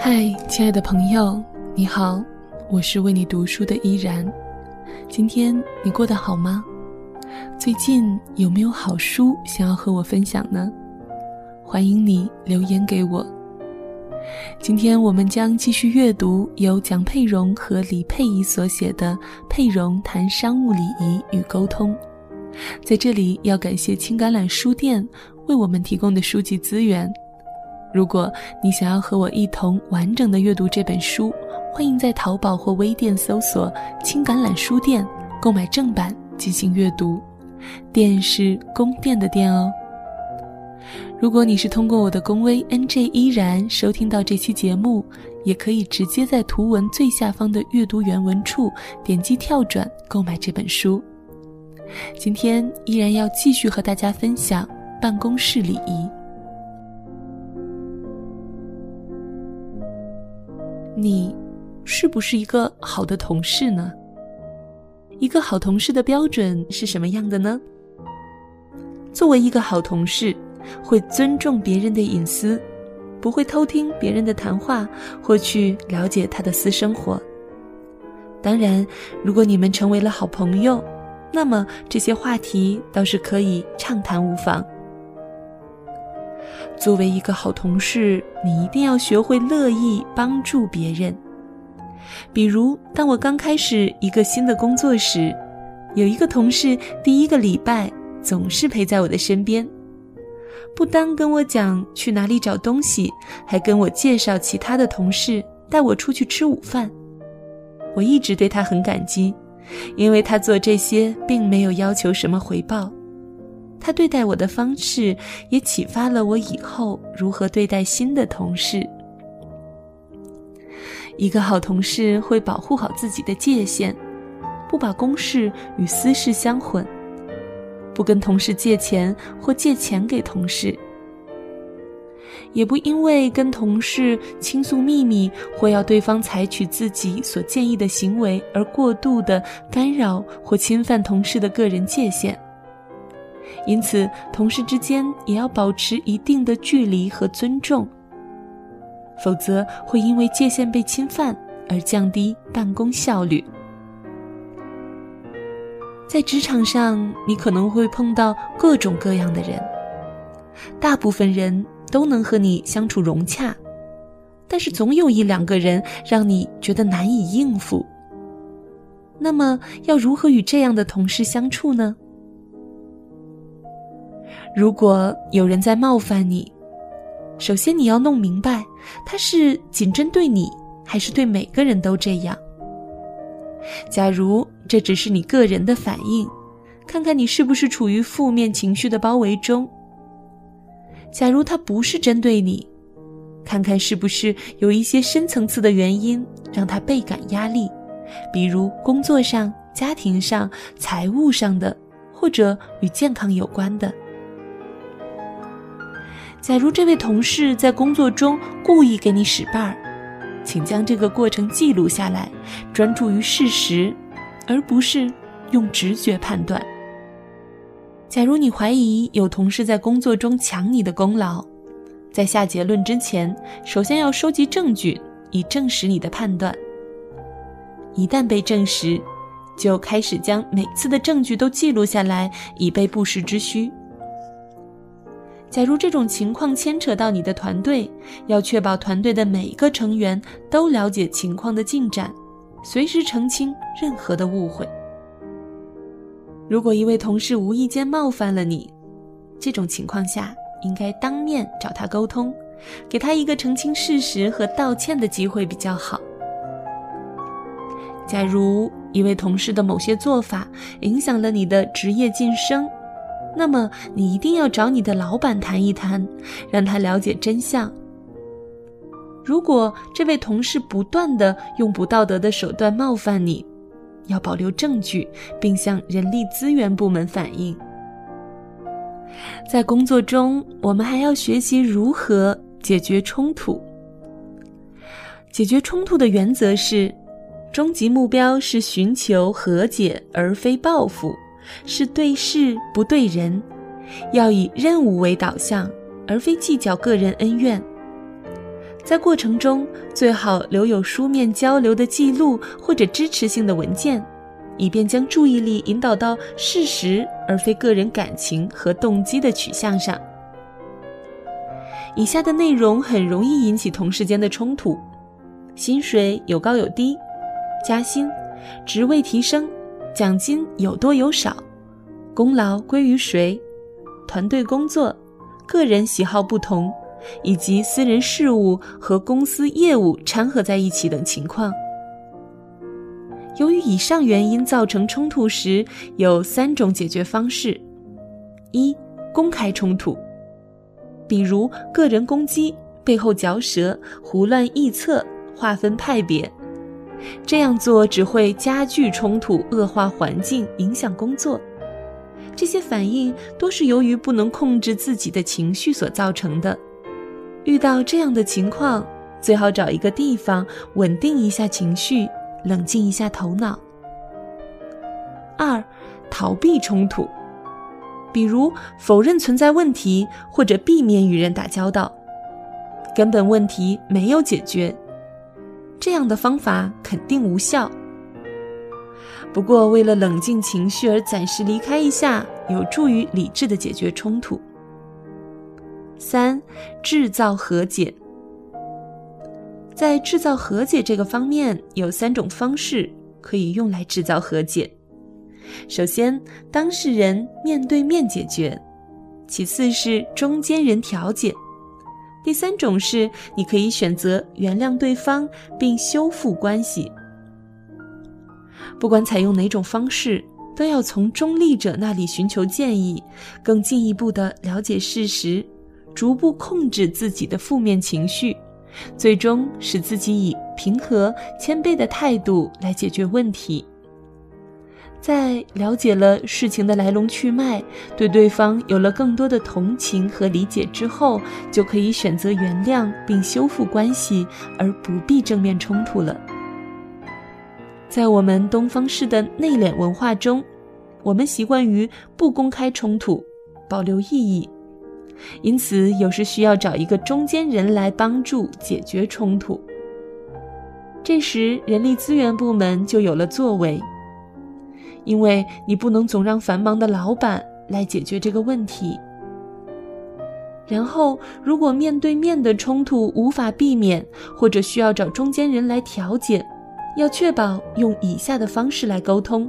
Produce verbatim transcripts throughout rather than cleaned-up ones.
嗨，亲爱的朋友，你好，我是为你读书的依然。今天你过得好吗？最近有没有好书想要和我分享呢？欢迎你留言给我。今天我们将继续阅读由蒋佩蓉和李佩仪所写的《佩蓉谈商务礼仪与沟通》。在这里要感谢青橄榄书店为我们提供的书籍资源。如果你想要和我一同完整的阅读这本书，欢迎在淘宝或微店搜索青橄榄书店购买正版进行阅读，店是宫殿的店哦。如果你是通过我的公微 N J 依然收听到这期节目，也可以直接在图文最下方的阅读原文处点击跳转购买这本书。今天依然要继续和大家分享办公室礼仪。你是不是一个好的同事呢？一个好同事的标准是什么样的呢？作为一个好同事，会尊重别人的隐私，不会偷听别人的谈话或去了解他的私生活。当然，如果你们成为了好朋友，那么这些话题倒是可以畅谈无妨。作为一个好同事，你一定要学会乐意帮助别人。比如，当我刚开始一个新的工作时，有一个同事第一个礼拜总是陪在我的身边，不单跟我讲去哪里找东西，还跟我介绍其他的同事，带我出去吃午饭。我一直对他很感激，因为他做这些并没有要求什么回报。他对待我的方式也启发了我以后如何对待新的同事。一个好同事会保护好自己的界限，不把公事与私事相混，不跟同事借钱或借钱给同事，也不因为跟同事倾诉秘密或要对方采取自己所建议的行为而过度的干扰或侵犯同事的个人界限。因此，同事之间也要保持一定的距离和尊重，否则会因为界限被侵犯而降低办公效率。在职场上，你可能会碰到各种各样的人，大部分人都能和你相处融洽，但是总有一两个人让你觉得难以应付。那么，要如何与这样的同事相处呢？如果有人在冒犯你，首先你要弄明白，他是仅针对你，还是对每个人都这样。假如这只是你个人的反应，看看你是不是处于负面情绪的包围中。假如他不是针对你，看看是不是有一些深层次的原因让他倍感压力，比如工作上、家庭上、财务上的，或者与健康有关的。假如这位同事在工作中故意给你使绊儿，请将这个过程记录下来，专注于事实，而不是用直觉判断。假如你怀疑有同事在工作中抢你的功劳，在下结论之前，首先要收集证据，以证实你的判断。一旦被证实，就开始将每次的证据都记录下来，以备不时之需。假如这种情况牵扯到你的团队，要确保团队的每一个成员都了解情况的进展，随时澄清任何的误会。如果一位同事无意间冒犯了你，这种情况下应该当面找他沟通，给他一个澄清事实和道歉的机会比较好。假如一位同事的某些做法影响了你的职业晋升，那么你一定要找你的老板谈一谈，让他了解真相。如果这位同事不断地用不道德的手段冒犯你，要保留证据，并向人力资源部门反映。在工作中，我们还要学习如何解决冲突。解决冲突的原则是，终极目标是寻求和解而非报复，是对事不对人，要以任务为导向，而非计较个人恩怨。 在过程中最好留有书面交流的记录或者支持性的文件，以便将注意力引导到事实而非个人感情和动机的取向上。以下的内容很容易引起同事间的冲突：薪水有高有低，加薪、职位提升、奖金有多有少，功劳归于谁，团队工作、个人喜好不同，以及私人事务和公司业务掺和在一起等情况。由于以上原因造成冲突时，有三种解决方式：一、公开冲突，比如个人攻击、背后嚼舌、胡乱臆测、划分派别。这样做只会加剧冲突，恶化环境，影响工作。这些反应多是由于不能控制自己的情绪所造成的。遇到这样的情况，最好找一个地方稳定一下情绪，冷静一下头脑。二、逃避冲突，比如否认存在问题，或者避免与人打交道，根本问题没有解决，这样的方法肯定无效。不过为了冷静情绪而暂时离开一下，有助于理智地解决冲突。三、制造和解。在制造和解这个方面，有三种方式可以用来制造和解。首先，当事人面对面解决；其次是中间人调解；第三种是你可以选择原谅对方并修复关系。不管采用哪种方式，都要从中立者那里寻求建议，更进一步地了解事实，逐步控制自己的负面情绪，最终使自己以平和、谦卑的态度来解决问题。在了解了事情的来龙去脉，对对方有了更多的同情和理解之后，就可以选择原谅并修复关系，而不必正面冲突了。在我们东方式的内敛文化中，我们习惯于不公开冲突，保留意义，因此有时需要找一个中间人来帮助解决冲突。这时人力资源部门就有了作为，因为你不能总让繁忙的老板来解决这个问题。然后如果面对面的冲突无法避免，或者需要找中间人来调解，要确保用以下的方式来沟通。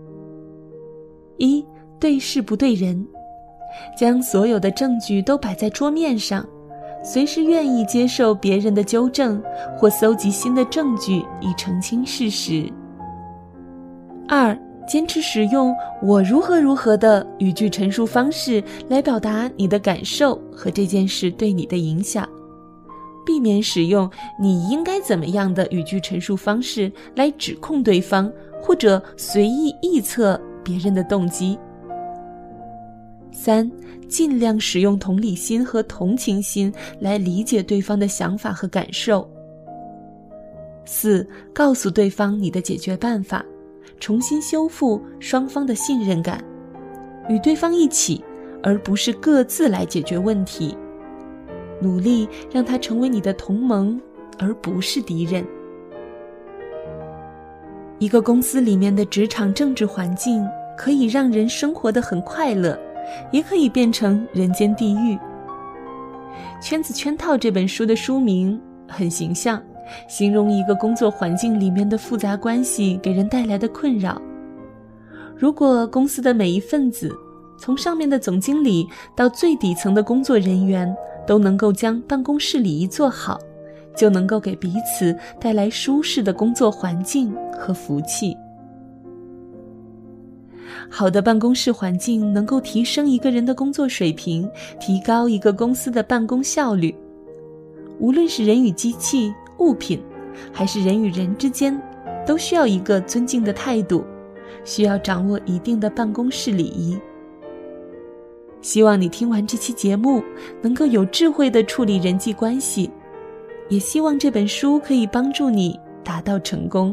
一、对事不对人，将所有的证据都摆在桌面上，随时愿意接受别人的纠正，或搜集新的证据以澄清事实。二、坚持使用我如何如何的语句陈述方式来表达你的感受和这件事对你的影响，避免使用你应该怎么样的语句陈述方式来指控对方，或者随意臆测别人的动机。三、尽量使用同理心和同情心来理解对方的想法和感受。四、告诉对方你的解决办法，重新修复双方的信任感，与对方一起，而不是各自来解决问题，努力让他成为你的同盟，而不是敌人。一个公司里面的职场政治环境可以让人生活得很快乐，也可以变成人间地狱。《圈子圈套》这本书的书名很形象，形容一个工作环境里面的复杂关系给人带来的困扰。如果公司的每一份子，从上面的总经理到最底层的工作人员，都能够将办公室礼仪做好，就能够给彼此带来舒适的工作环境和福气。好的办公室环境能够提升一个人的工作水平，提高一个公司的办公效率。无论是人与机器、物品，还是人与人之间，都需要一个尊敬的态度，需要掌握一定的办公室礼仪。希望你听完这期节目，能够有智慧地处理人际关系，也希望这本书可以帮助你达到成功。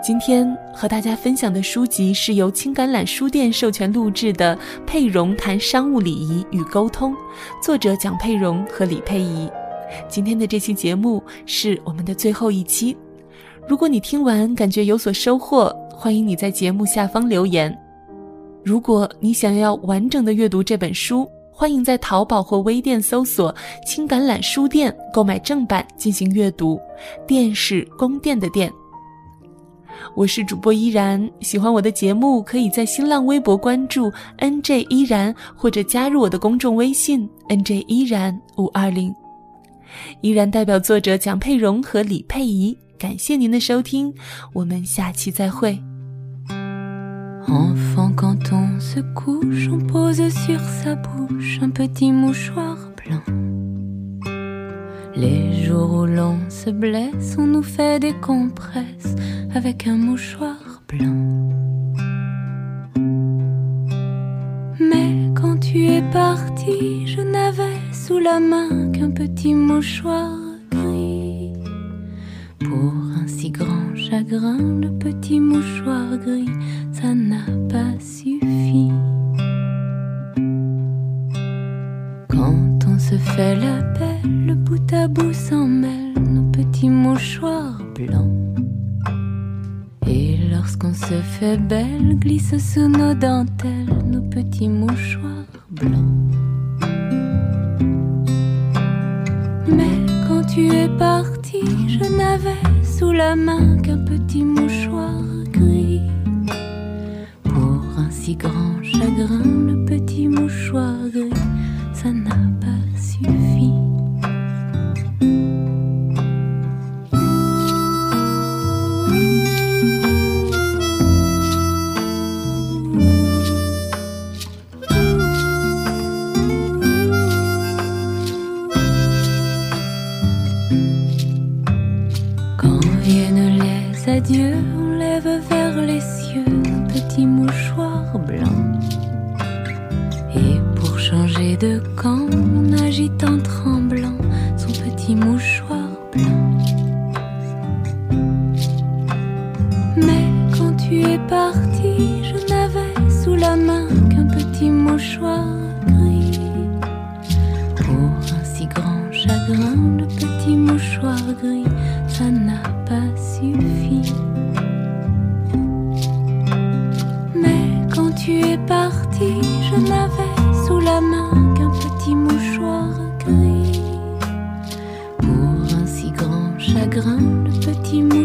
今天和大家分享的书籍是由青橄榄书店授权录制的《佩蓉谈商务礼仪与沟通》，作者蒋佩蓉和李佩仪。今天的这期节目是我们的最后一期，如果你听完感觉有所收获，欢迎你在节目下方留言。如果你想要完整的阅读这本书，欢迎在淘宝或微店搜索青橄榄书店购买正版进行阅读，店是宫殿的店。我是主播依然，喜欢我的节目可以在新浪微博关注 N J 依然，或者加入我的公众微信 N J 依然五二零。依然代表作者蒋佩蓉和李佩仪，感谢您的收听，我们下期再会。 Enfant, quand on se couche, on pose sur sa bouche un petit mouchoir blanc. Les jours où l'on se blesse, on nous fait des compresses avec un mouchoir blanc. Mais quand tu es parti, je n'avais sous la main qu'un petit mouchoir gris. Pour un si grand chagrin, le petit mouchoir gris, ça n'a pas suffi. Quand on se fait la belle, le bout à bout s'en mêle, nos petits mouchoirs blancs. Et lorsqu'on se fait belle, glisse sous nos dentelles, nos petits mouchoirs blancs. Mais quand tu es parti, je n'avais sous la main qu'un petit mouchoir gris. Pour un si grand chagrin, le petit mouchoir gris, ça n'a pas suffi. Adieu, on lève vers les cieux nos petits mouchoirs blancs. Et pour changer de camp, on agite en tremblant son petit mouchoir blanc. Mais quand tu es parti, je n'avais sous la main qu'un petit mouchoir gris. Pour un si grand chagrin, le petit mouchoir gris, ça n'a pas suffi. Mais quand tu es parti, je n'avais sous la main qu'un petit mouchoir gris. Pour un si grand chagrin, le petit mouchoir